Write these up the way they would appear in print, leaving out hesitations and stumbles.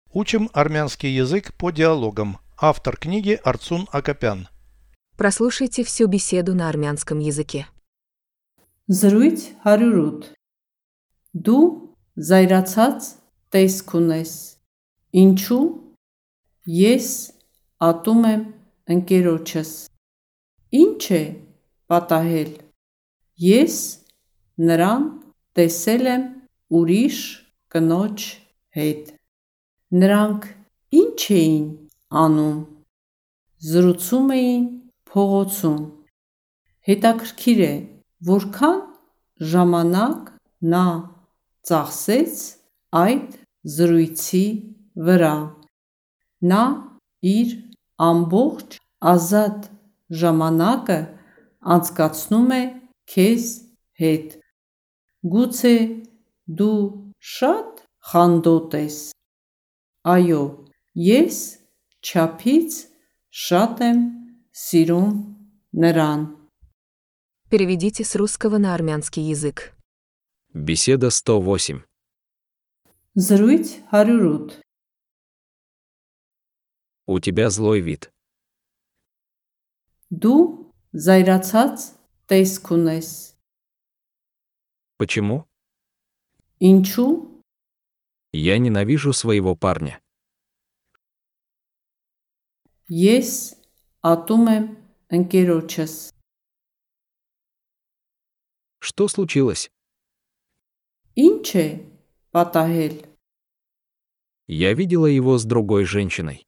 Учим армянский язык по диалогам. Автор книги Арцун Акопян. Прослушайте всю беседу на армянском языке. Զրույց 108 Դու զայրացած տեսք ունես, ինչու ես ատում եմ ընկերոջս, ինչ է պատահել, ես նրան տեսել եմ ուրիշ կնոջ հետ, նրանք ինչ էին անում, զրուցում էին փողոցում, հետաքրքիր է, որքան ժամանակ նա ծախսեց այդ զրույցի վրա, նա իր ամբողջ ազատ ժամանակը անցկացնում է քեզ հետ, գուցե դու շատ խանդոտ ես, այո, ես չափից շատ եմ սիրում նրան. Переведите с русского на армянский язык. Беседа 108. Զրույց 108 У тебя злой вид. Դու զայրացած տեսք ունես, Почему? ինչու Я ненавижу своего парня. ես ատում եմ ընկերոջս, Что случилось? ինչ է պատահել, Я видела его с другой женщиной.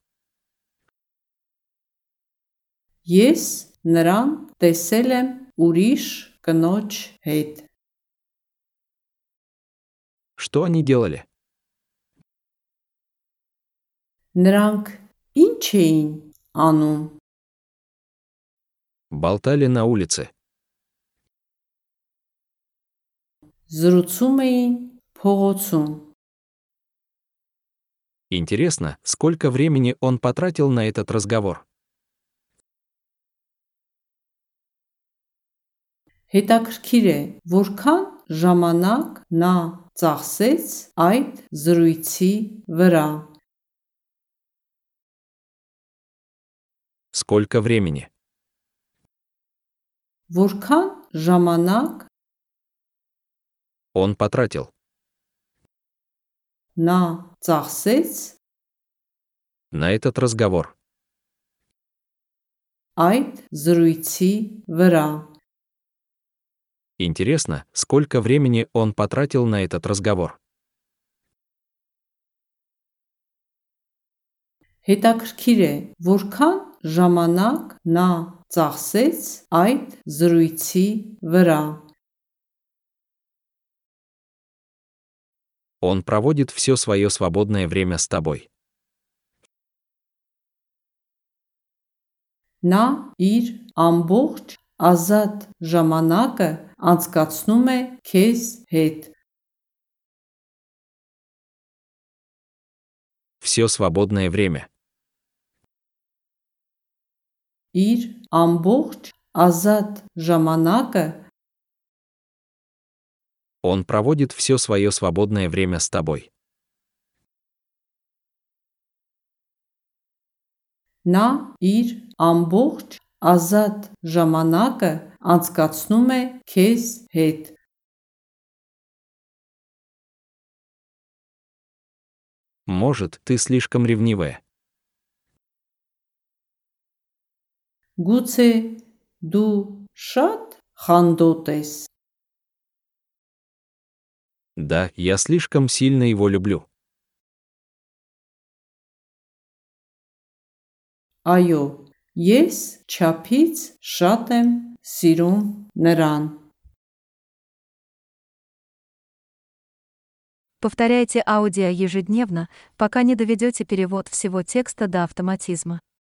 ես նրան տեսել եմ ուրիշ կնոջ հետ, Что они делали? նրանք ինչ էին անում, Болтали на улице. զրուցում էին փողոցում, Интересно, сколько времени он потратил на этот разговор? հետաքրքիր է, որքան ժամանակ նա ծախսեց այդ զրույցի վրա, Сколько времени? որքան ժամանակ Он потратил. նա ծախսեց На этот разговор. այդ զրույցի վրա, Интересно, сколько времени он потратил на этот разговор? հետաքրքիր է, որքան ժամանակ նա ծախսեց այդ զրույցի վրա, Он проводит все свое свободное время с тобой. նա իր ամբողջ ազատ ժամանակը անցկացնում է քեզ հետ, Все свободное время. իր ամբողջ ազատ ժամանակը Он проводит все свое свободное время с тобой. նա իր ամբողջ ազատ ժամանակը անցկացնում է քեզ հետ, Может, ты слишком ревнивая. գուցե դու շատ խանդոտ ես, Да, я слишком сильно его люблю. այո, ես չափից շատ եմ սիրում նրան. Повторяйте аудио ежедневно, пока не доведете перевод всего текста до автоматизма.